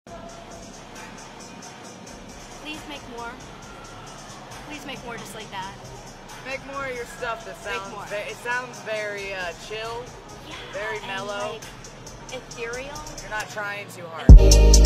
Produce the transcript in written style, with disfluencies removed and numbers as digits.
Please make more. Please make more just like that. Make more of your stuff that sounds, it sounds very chill, Yeah, very mellow. and, like, ethereal. You're not trying too hard.